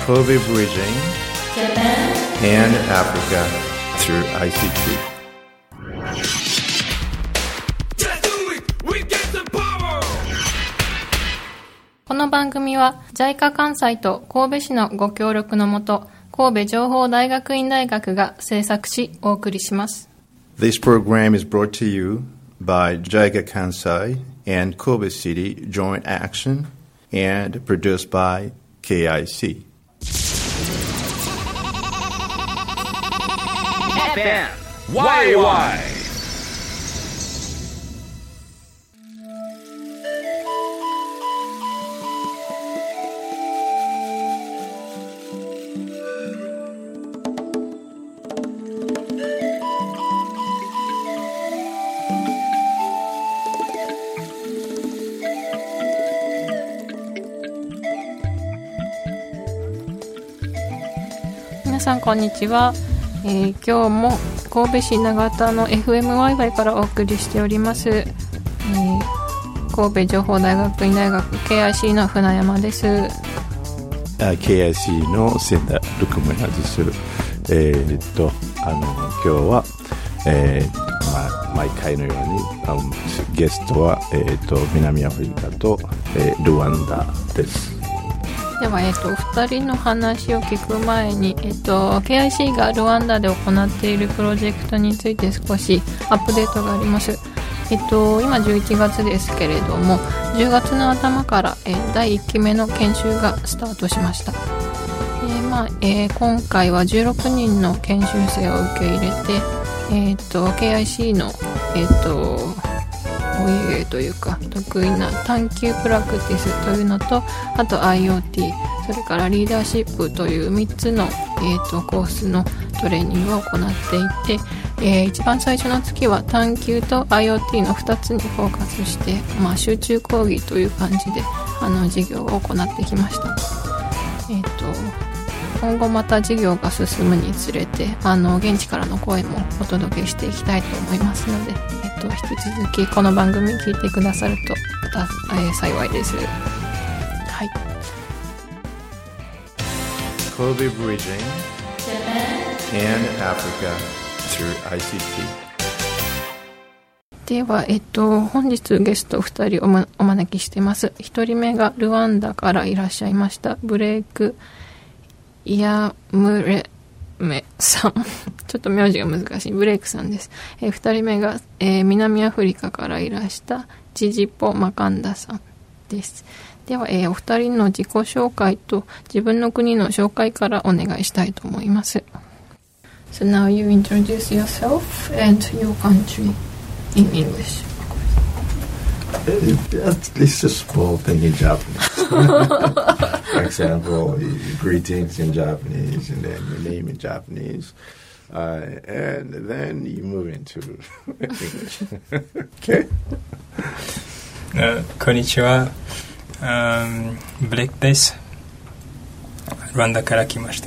Kobe Bridging Japan and Africa through ICT. この番組は JICA 関西と神戸市のご協力のもと、神戸情報大学院大学が制作しお送りします。 This program is brought to you by JICA Kansai and Kobe City Joint Action and produced by KIC. FM YY 皆さんこんにちは。今日も神戸市長田の FMYY からお送りしております、神戸情報大学院大学 KIC の船山です。 KIC の千田ルクムナです。今日は、毎回のようにゲストは、南アフリカと、ルワンダです。 では、お二人の話を聞く前に、KIC がルワンダで行っているプロジェクトについて少しアップデートがあります。今11月ですけれども、10月の頭から、第1期目の研修がスタートしました。今回は16人の研修生を受け入れて、KIC の、お家芸というか得意な探究プラクティスというのと、あと IoT、 それからリーダーシップという3つの、コースのトレーニングを行っていて、一番最初の月は探究と IoT の2つにフォーカスして、集中講義という感じで授業を行ってきました。今後また授業が進むにつれて現地からの声もお届けしていきたいと思いますので、引き続きこの番組聞いてくださると幸いです。はい。 Kobe Bridging and Africa through ICT. では、本日ゲスト2人お招きしています。1人目がルワンダからいらっしゃいましたブレイクイヤムレメさんちょっと名字が難しいブレイクさんです。2人目が、南アフリカからいらしたジジポマカンダさんです。では、お二人の自己紹介と自分の国の紹介からお願いしたいと思います。 So now you introduce yourself and your country in English. It's a small thing in Japanese. For example, greetings in Japanese, and then your name in Japanese, and then you move into English. Okay. こんにちは。ブレイクです。ルワンダから来ました。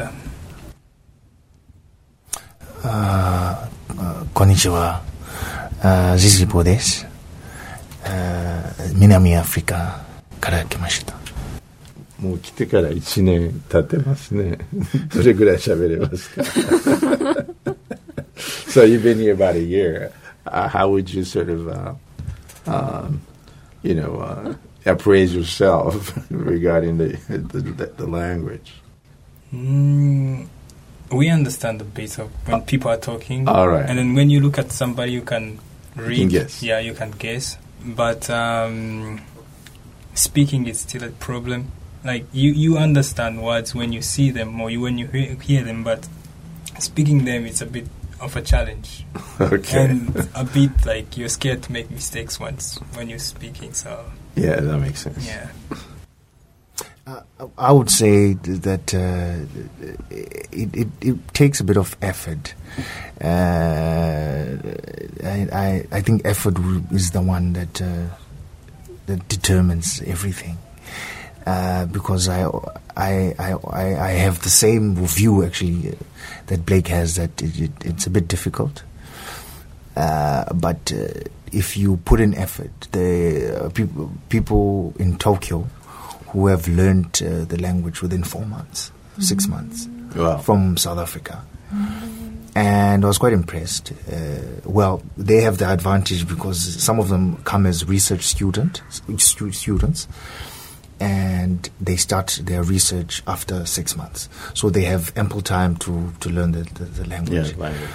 こんにちは。ジジポです。南アフリカから来ました。 もう来てから1年経ってますね。どれぐらい喋れますか？ So you've been here about a year. How would you sort of, appraise yourself regarding the language? We understand a bit of when people are talking. All right. And then when you look at somebody, you can read. You can guess. Yeah, you can guess. But speaking is still a problem. Like you understand words when you see them or when you hear them, but speaking them it's a bit of a challenge. Okay. And a bit like you're scared to make mistakes once when you're speaking. So yeah, that makes sense. Yeah. I would say that it takes a bit of effort. I think effort is the one that determines everything. Because I have the same view actually that Blake has, that it's a bit difficult. But if you put in effort, the people in Tokyo who have learned the language within 4 months, 6 months Wow. from South Africa. And I was quite impressed. Well, they have the advantage because some of them come as research students, and they start their research after 6 months. So they have ample time to learn the language. Yeah, language.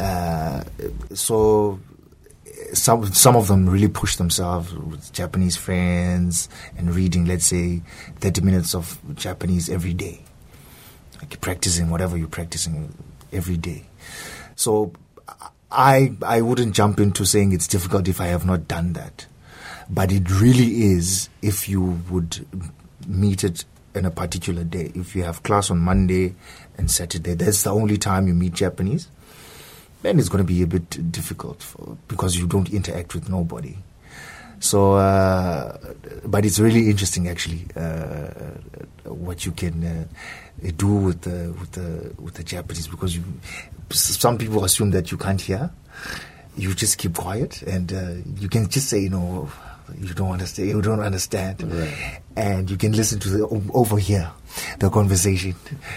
So some of them really push themselves with Japanese friends and reading, let's say, 30 minutes of Japanese every day. Like practicing whatever you're practicing every day. So I wouldn't jump into saying it's difficult if I have not done that. But it really is if you would meet it in a particular day. If you have class on Monday and Saturday, that's the only time you meet Japanese, then it's going to be a bit difficult because you don't interact with nobody. So, but it's really interesting actually what you can do with the Japanese, because some people assume that you can't hear. You just keep quiet and you can just say, you don't understand, Right. and you can listen to overhear the conversation,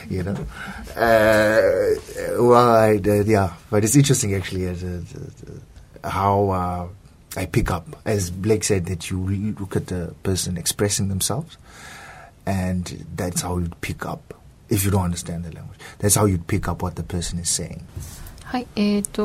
but it's interesting actually how I pick up, as Blake said, that you really look at the person expressing themselves, and that's how you pick up. If you don't understand the language, that's how you pick up what the person is saying. はい、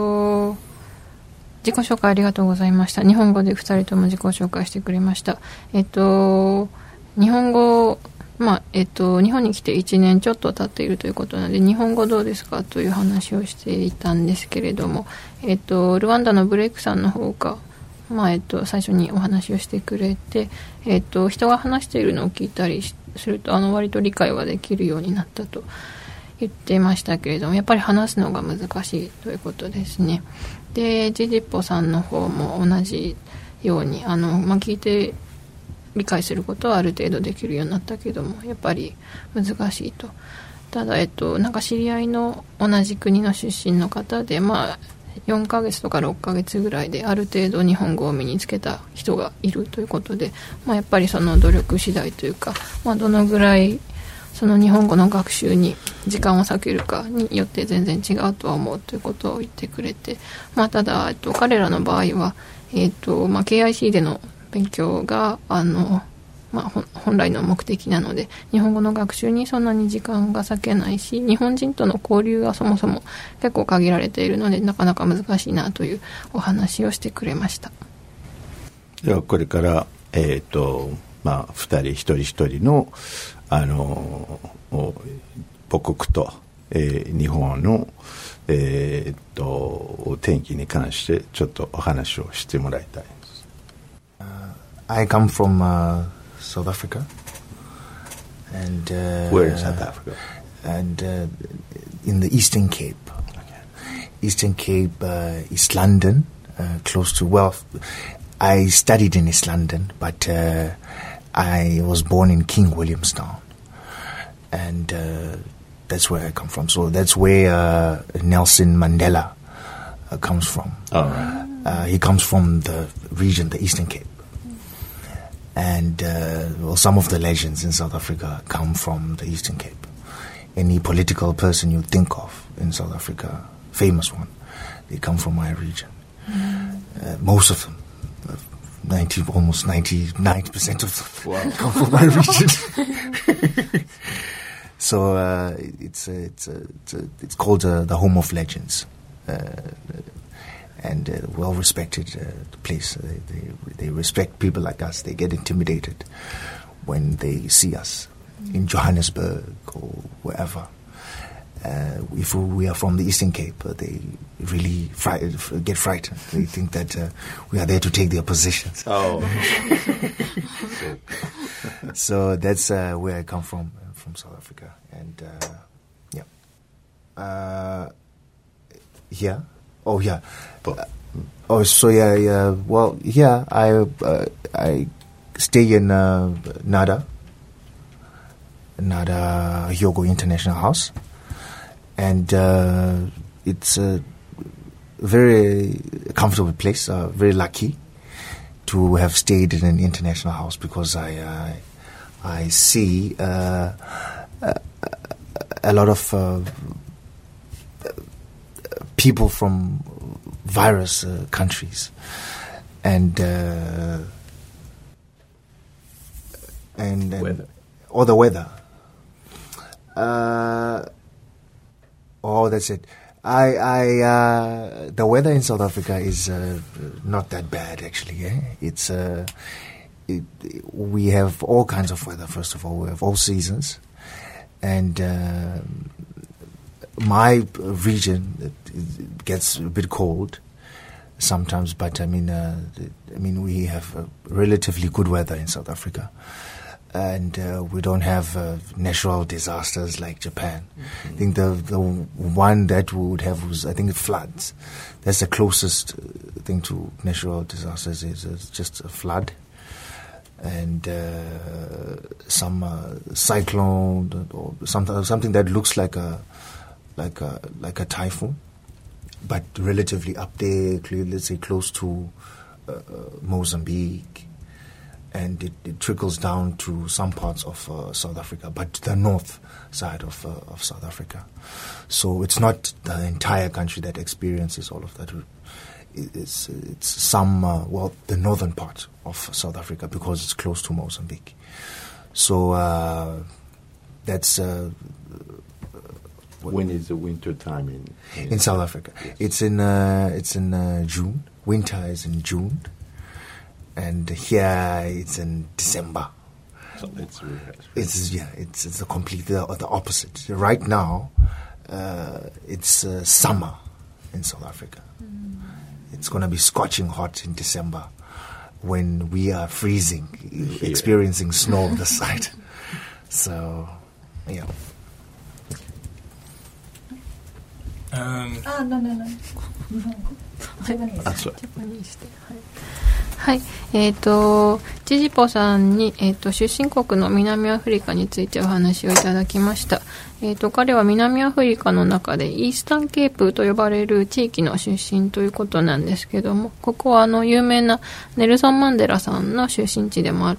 自己紹介ありがとうございました。日本語で2人とも自己紹介してくれました。日本語、日本に来て1年ちょっと経っているということなので、日本語どうですかという話をしていたんですけれども、ルワンダのブレイクさんの方が、最初にお話をしてくれて、人が話しているのを聞いたりすると、割と理解はできるようになったと言っていましたけれども、やっぱり話すのが難しいということですね。で、ジジッポさんの方も同じように聞いて理解することはある程度できるようになったけども、やっぱり難しいと。ただなんか知り合いの同じ国の出身の方で、4ヶ月とか6ヶ月ぐらいである程度日本語を身につけた人がいるということで、やっぱりその努力次第というか、どのぐらいその日本語の学習に時間を割けるかによって全然違うとは思うということを言ってくれて、ただ彼らの場合は、KIC での勉強が本来の目的なので、日本語の学習にそんなに時間が割けないし、日本人との交流がそもそも結構限られているので、なかなか難しいなというお話をしてくれました。 ではこれから2人一人一人の母国と、日本の天気に関してちょっとお話をしてもらいたいです。 I come from South Africa, and Where in South Africa? And in the Eastern Cape. Eastern Cape, East London, close to, well, I studied in East London, but I was born in King Williamstown, and that's where I come from. So that's where Nelson Mandela comes from. All right. He comes from the region, the Eastern Cape. And some of the legends in South Africa come from the Eastern Cape. Any political person you think of in South Africa, famous one, they come from my region. Most of them, almost 99% of them come from my region. So it's called the Home of Legends. And well-respected place. They respect people like us. They get intimidated when they see us in Johannesburg or wherever. If we are from the Eastern Cape, they really get frightened. They think that we are there to take their positions. Oh. So that's where I come from South Africa. And yeah. Oh yeah. Well, yeah. I stay in Nada Hyogo International House, and it's a very comfortable place. Very lucky to have stayed in an international house, because I see a lot of people from various countries, and Weather. or the weather. That's it. The weather in South Africa is not that bad, actually. It's we have all kinds of weather. First of all, we have all seasons, and my region it gets a bit cold sometimes. But I mean, we have relatively good weather in South Africa. And we don't have natural disasters like Japan. I think the one that we would have was, I think, floods. That's the closest thing to natural disasters is just a flood and some cyclone or something that looks like a typhoon, but relatively up there, let's say close to Mozambique. And it trickles down to some parts of South Africa, but the north side of South Africa. So it's not the entire country that experiences all of that. It's some, the northern part of South Africa because it's close to Mozambique. So that's... when is the winter time in South Africa? Yes. It's in June. Winter is in June. And here it's in December. So it's the complete the opposite. Right now, it's summer in South Africa. It's going to be scorching hot in December when we are freezing, experiencing snow on the side. So, yeah. No. はい、ジジポさんに、出身国の南アフリカについてお話をいただきました。彼は南アフリカの中でイースタンケープと呼ばれる地域の出身ということなんですけども、ここは有名なネルソン・マンデラさんの出身地でもあって、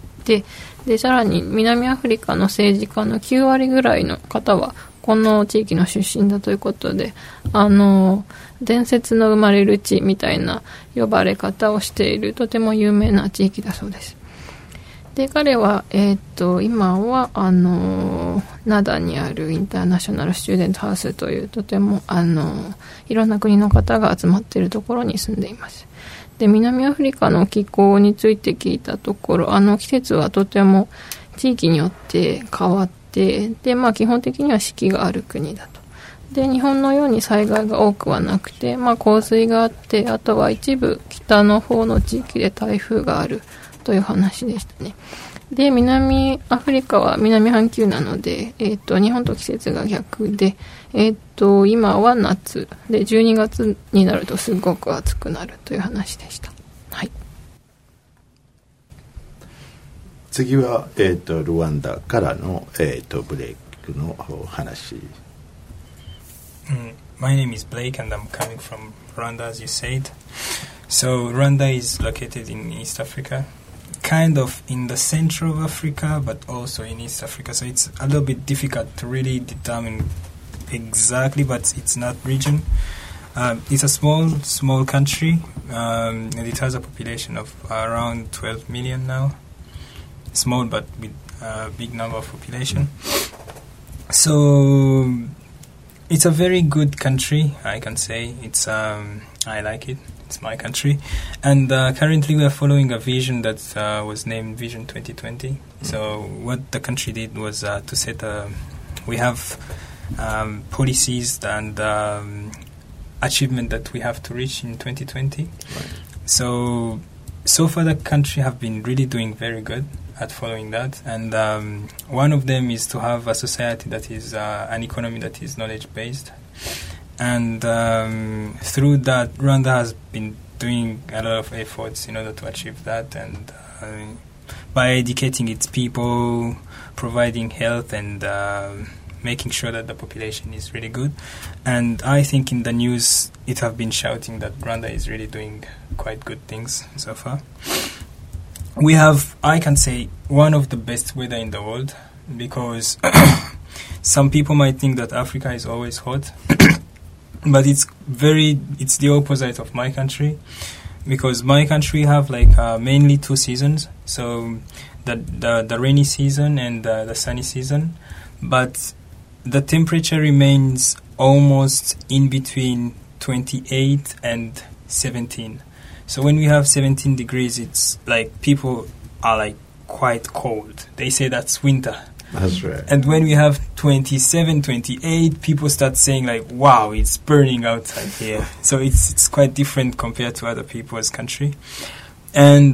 でさらに南アフリカの政治家の9割ぐらいの方はこの地域の出身だということで、伝説の生まれる地みたいな呼ばれ方をしているとても有名な地域だそうです。で彼は、今は灘にあるインターナショナルスチューデントハウスというとてもいろんな国の方が集まっているところに住んでいます。で南アフリカの気候について聞いたところ季節はとても地域によって変わってで、基本的には四季がある国だと。で日本のように災害が多くはなくて、洪水があってあとは一部北の方の地域で台風があるという話でしたね。で南アフリカは南半球なので、日本と季節が逆で、今は夏で12月になるとすごく暑くなるという話でした。はい。 次は、ルワンダからの、ブレイクの話。 My name is Blake and I'm coming from Rwanda, as you said. So Rwanda is located in East Africa, kind of in the center of Africa, but also in East Africa. So it's a little bit difficult to really determine exactly, but it's not region. It's a small country, and it has a population of around 12 million now. Small, but with a big number of population. So it's a very good country, I can say. It's I like it. It's my country. And currently we are following a vision that was named Vision 2020. So what the country did was to set we have policies and achievement that we have to reach in 2020. Right. So far the country have been really doing very good at following that, and one of them is to have a society that is an economy that is knowledge-based, and through that Rwanda has been doing a lot of efforts in order to achieve that, and by educating its people, providing health, and making sure that the population is really good. And I think in the news it have been shouting that Rwanda is really doing quite good things so far. We have, I can say, one of the best weather in the world, because some people might think that Africa is always hot, but it's the opposite of my country, because my country have like mainly 2 seasons, so the rainy season and the sunny season, but the temperature remains almost in between 28 and 17. So when we have 17 degrees, it's like people are like quite cold. They say that's winter. That's right. And when we have 27, 28, people start saying like, wow, it's burning outside here. So it's quite different compared to other people's country. And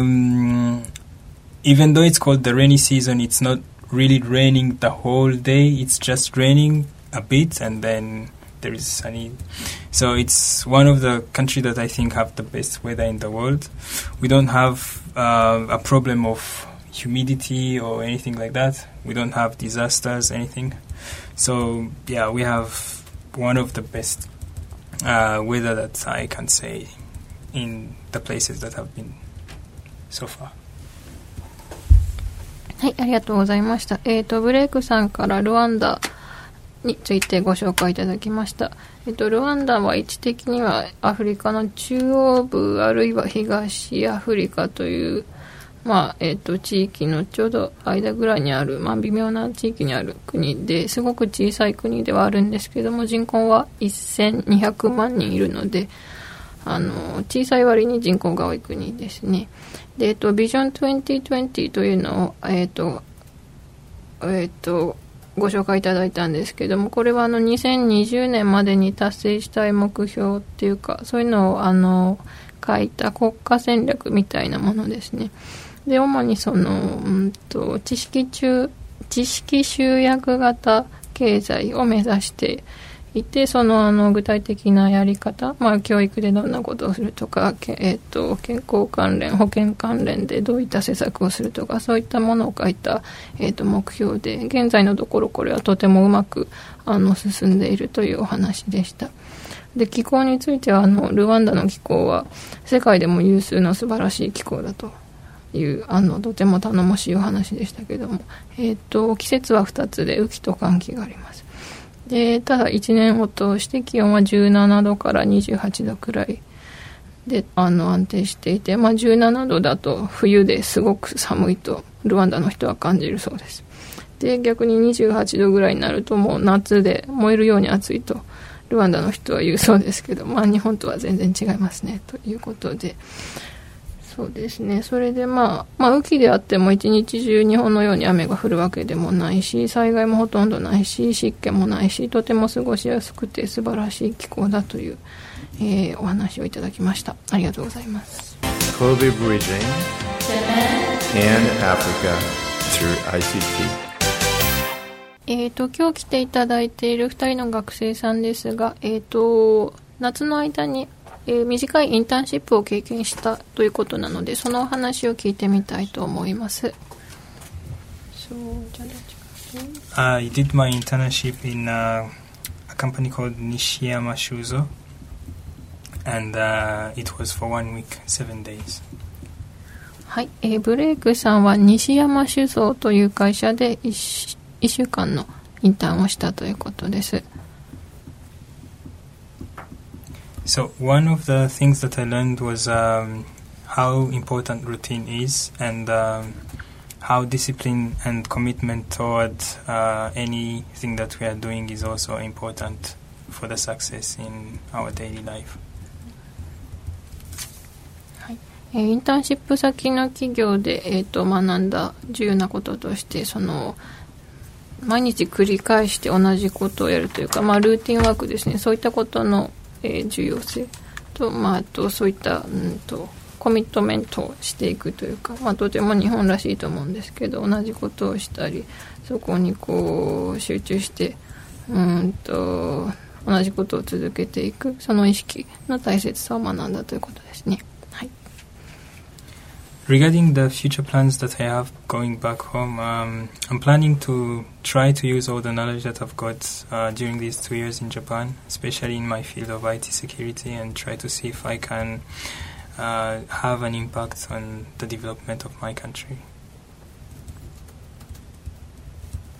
even though it's called the rainy season, it's not really raining the whole day. It's just raining a bit and then there is sunny. So it's one of the countries that I think have the best weather in the world. We don't have a problem of humidity or anything like that. We don't have disasters, anything. So yeah, we have one of the best weather that I can say in the places that have been so far. はい、ありがとうございました。ブレイクさんからルワンダについてご紹介いただきました。ルワンダは位置的にはアフリカの中央部あるいは東アフリカという地域のちょうど間ぐらいにある、微妙な地域にある国ですごく小さい国ではあるんですけども、人口は1200万人いるので、小さい割に人口が多い国ですね。で、ビジョン2020というのを、ご紹介いただいたんですけども、これは2020年までに達成したい目標っていうか、そういうのを書いた国家戦略みたいなものですね。で、主に知識集約型経済を目指していて、具体的なやり方、教育でどんなことをするとか、健康関連、保険関連でどういった施策をするとか、そういったものを書いた、目標で、現在のところこれはとてもうまく進んでいるというお話でした。で、気候についてはルワンダの気候は世界でも有数の素晴らしい気候だというとても頼もしいお話でしたけども、季節は2つで雨季と乾季があります。で、ただ1年を通して気温は17度から28度くらいで安定していて、17度だと冬ですごく寒いとルワンダの人は感じるそうです。で、逆に28度ぐらいになるともう夏で燃えるように暑いとルワンダの人は言うそうですけど、日本とは全然違いますねということで、そうですね。それで雨季であっても一日中日本のように雨が降るわけでもないし、災害もほとんどないし、湿気もないし、とても過ごしやすくて素晴らしい気候だという、お話をいただきました。ありがとうございます。 Kobe Bridging and Africa through ICT。 今日来ていただいている2人の学生さんですが、夏の間に短いインターンシップを経験したということなので、そのお話を聞いてみたいと思います。 I did my internship in a company called Nishiyama Shuzo, and it was for 1 week, 7 days. はい、ブレイクさんは西山酒造という会社で1週間のインターンをしたということです。 So one of the things that I learned was how important routine is, and how discipline and commitment toward anything that we are doing is also important for the success in our daily life. はい、インターンシップ先の企業で、学んだ重要なこととして、毎日繰り返して同じことをやるというか、ルーティンワークですね。そういったことの重要性と、あとそういった、コミットメントをしていくというか、とても日本らしいと思うんですけど、同じことをしたり、そこに集中して同じことを続けていく、その意識の大切さを学んだということですね。はい。 Regarding the future plans that I have going back home, I'm planning to try to use all the knowledge that I've got during these 2 years in Japan, especially in my field of IT security, and try to see if I can have an impact on the development of my country.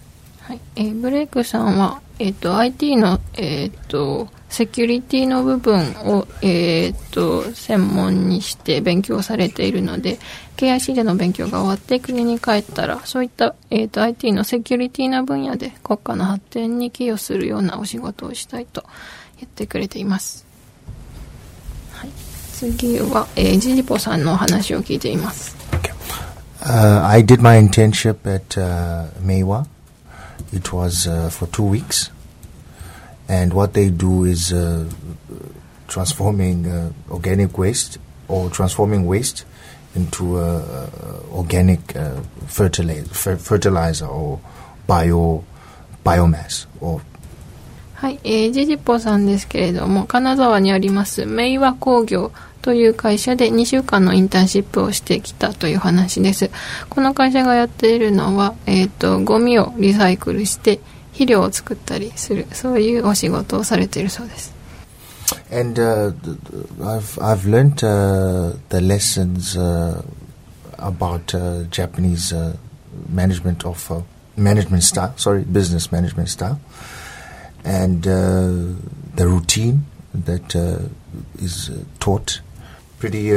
はい、ブレイクさんは、IT の、セキュリティの部分を、専門にして勉強されているので、KIC での勉強が終わって国に帰ったら、そういった、IT のセキュリティの分野で国家の発展に寄与するようなお仕事をしたいと言ってくれています。はい、次は、ジジポさんのお話を聞いています。 I did my internship at Meiwa. It was for 2 weeks. And what they do is transforming organic waste or transforming waste into organic fertilizer or biomass. Or はい、ジジポさんですけれども、金沢にあります明和工業という会社で2週間のインターンシップをしてきたという話です。この会社がやっているのは、ゴミをリサイクルして肥料を作ったりする、そういうお仕事をされているそうです。 And I've learned the lessons about Japanese management of management style. Sorry, business management style, and the routine that is taught. Pretty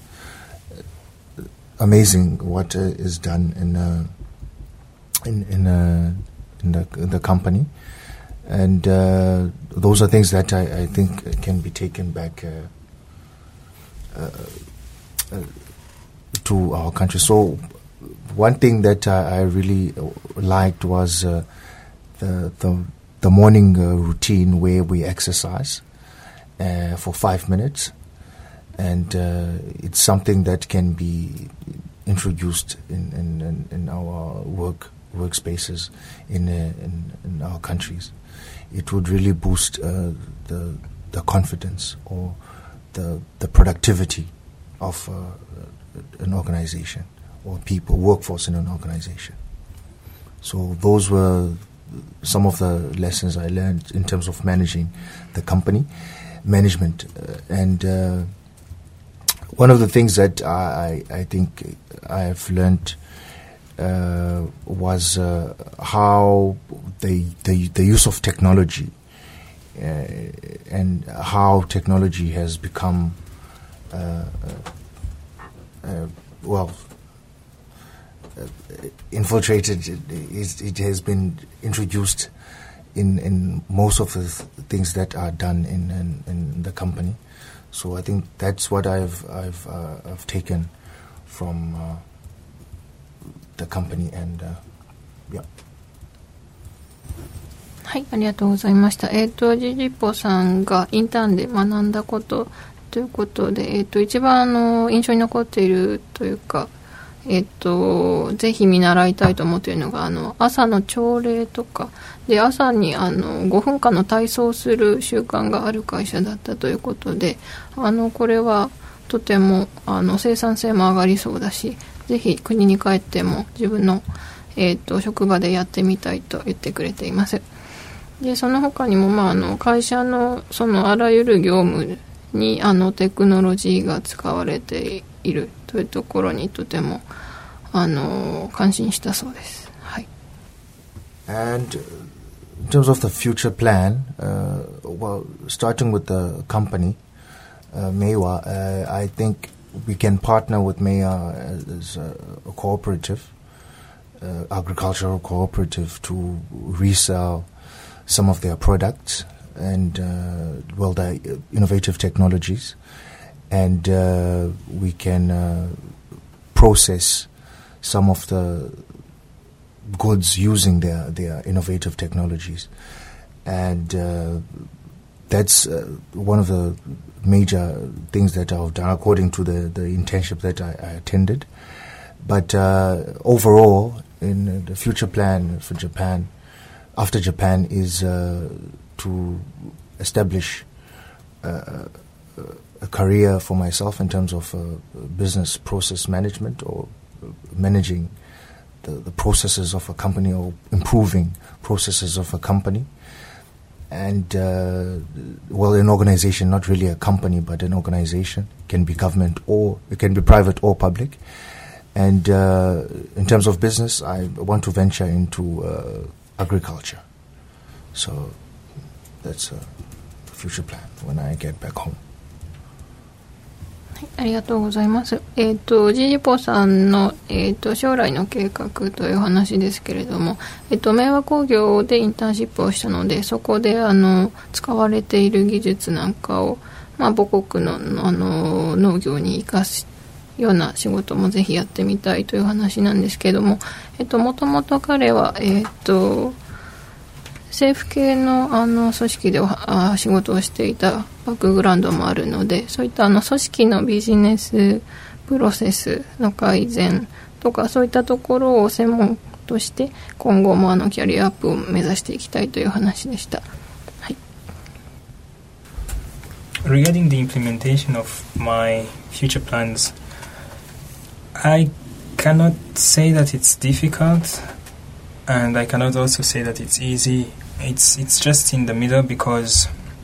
amazing what is done in the company, and those are things that I think can be taken back to our country. So one thing that I really liked was the morning routine where we exercise for 5 minutes, and it's something that can be introduced in our workspaces in our countries. It would really boost the confidence or the productivity of an organization or people, workforce in an organization. So those were some of the lessons I learned in terms of managing the company, management, and one of the things that I think I have learned was how the use of technology and how technology has become infiltrated. It has been introduced in most of the things that are done in the company. So I think that's what I've taken from the company, and yeah. はい、ありがとうございました。ジジポさんがインターンで学んだことということで、一番印象に残っているというか、ぜひ見習いたいと思っているのが朝の朝礼とかで、朝に5分間の体操をする習慣がある会社だったということで、これはとても生産性も上がりそうだし、ぜひ国に帰っても自分の、職場でやってみたいと言ってくれています。でその他にも、会社のそのあらゆる業務にテクノロジーが使われているというところにとても感心したそうです。はい。 And in terms of the future plan, well, starting with the company, Meiwa, I think we can partner with Meiwa as a cooperative, agricultural cooperative, to resell some of their products and their innovative technologies, and we can process some of the goods using their innovative technologies, and that's one of the major things that I've done according to the internship that I attended. But overall, in the future plan for Japan, after Japan, is to establish a career for myself in terms of business process management, or managing the processes of a company, or improving processes of a company. And an organization, not really a company, but an organization, can be government or it can be private or public. And in terms of business, I want to venture into agriculture. So that's a future plan when I get back home. ありがとうございます。ジジポさんの、将来の計画という話ですけれども、明和工業でインターンシップをしたので、そこで使われている技術なんかを、母国の、農業に生かすような仕事もぜひやってみたいという話なんですけれども、もともと彼は、政府系の組織で仕事をしていたバックグラウンドもあるので、そういった組織のビジネスプロセスの改善とか、そういったところを専門として今後もキャリアアップを目指していきたいという話でした。はい。 Regarding the implementation of my future plans, I cannot say that it's difficult, and I cannot also say that it's easy. It's just in the middle because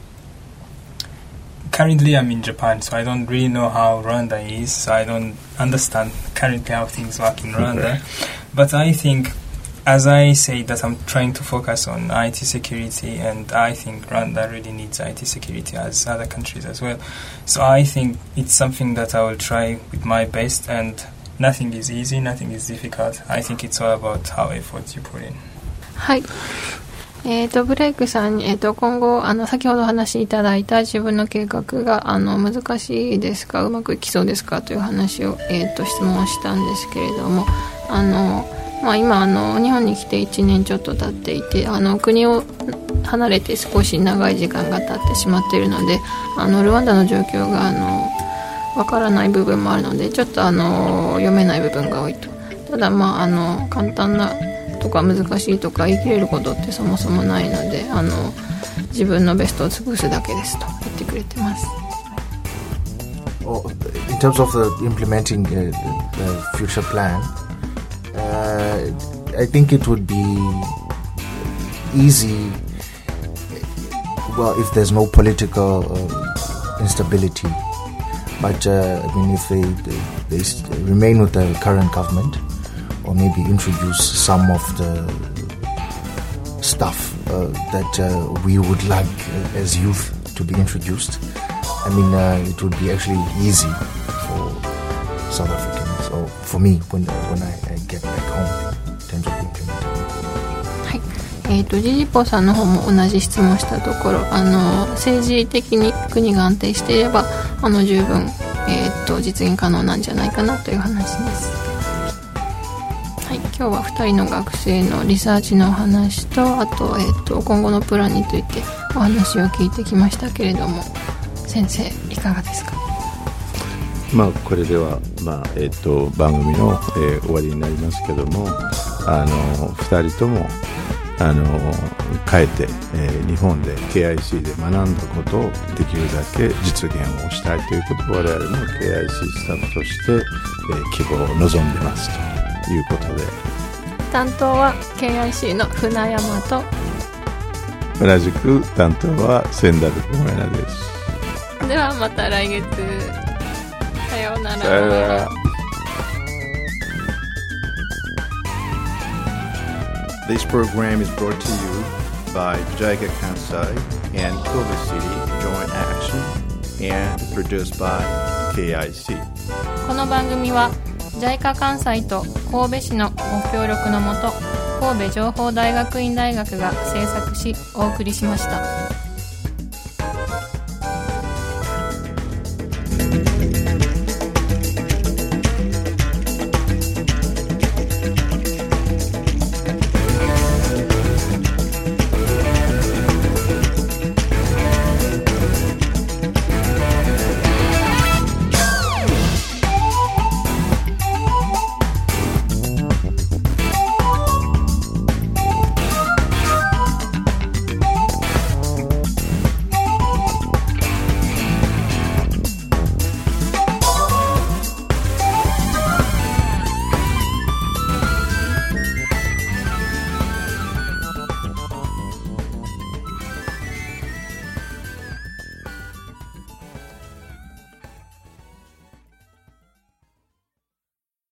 currently I'm in Japan, so I don't really know how Rwanda is, so I don't understand currently how things work in Rwanda. But I think, as I say, that I'm trying to focus on IT security, and I think Rwanda really needs IT security as other countries as well. So I think it's something that I will try with my best, and nothing is easy, nothing is difficult. I think it's all about how effort you put in. はい。ブレイクさんに、今後先ほど話しいただいた自分の計画が難しいですか、うまくいきそうですかという話を、質問をしたんですけれども、今日本に来て1年ちょっと経っていて、国を離れて少し長い時間が経ってしまっているので、ルワンダの状況がわからない部分もあるので、ちょっと読めない部分が多いと。ただ簡単なとか難しいとか言い切れることってそもそもないので、自分のベストを尽くすだけですと言ってくれてます。 In terms of implementing the future plan, I think it would be easy, well, if there's no political instability. But if they remain with the current government, or maybe introduce some of the stuff that we would like as youth to be introduced, it would be actually easy for South Africans, or for me when I get back home in terms of implementing. はい。ジジポさんの方も同じ質問したところ、政治的に国が安定していれば十分、実現可能なんじゃないかなという話です。はい、今日は2人の学生のリサーチのお話と、あと、今後のプランについてお話を聞いてきましたけれども、先生いかがですか？ これでは、番組の、終わりになりますけども、2人とも帰って、日本で KIC で学んだことをできるだけ実現をしたいということを我々も KIC スタッフとして、希望を望んでますということで、 担当は KIC の船山と、 同じく担当は仙台小村です。 ではまた来月、さようなら。 さようなら。This program is brought to you by JICA Kansai and Kobe City Joint Action and produced by KIC。 この番組は JICA 関西と神戸市のご協力のもと、神戸情報大学院大学が制作しお送りしました。